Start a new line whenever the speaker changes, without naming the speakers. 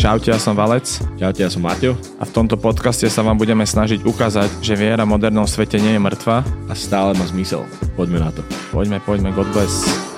Čaute, ja som Valec.
Čaute, ja som Maťo.
A v tomto podcaste sa vám budeme snažiť ukázať, že viera v modernom svete nie je mŕtva.
A stále má zmysel. Poďme na to.
Poďme, God bless.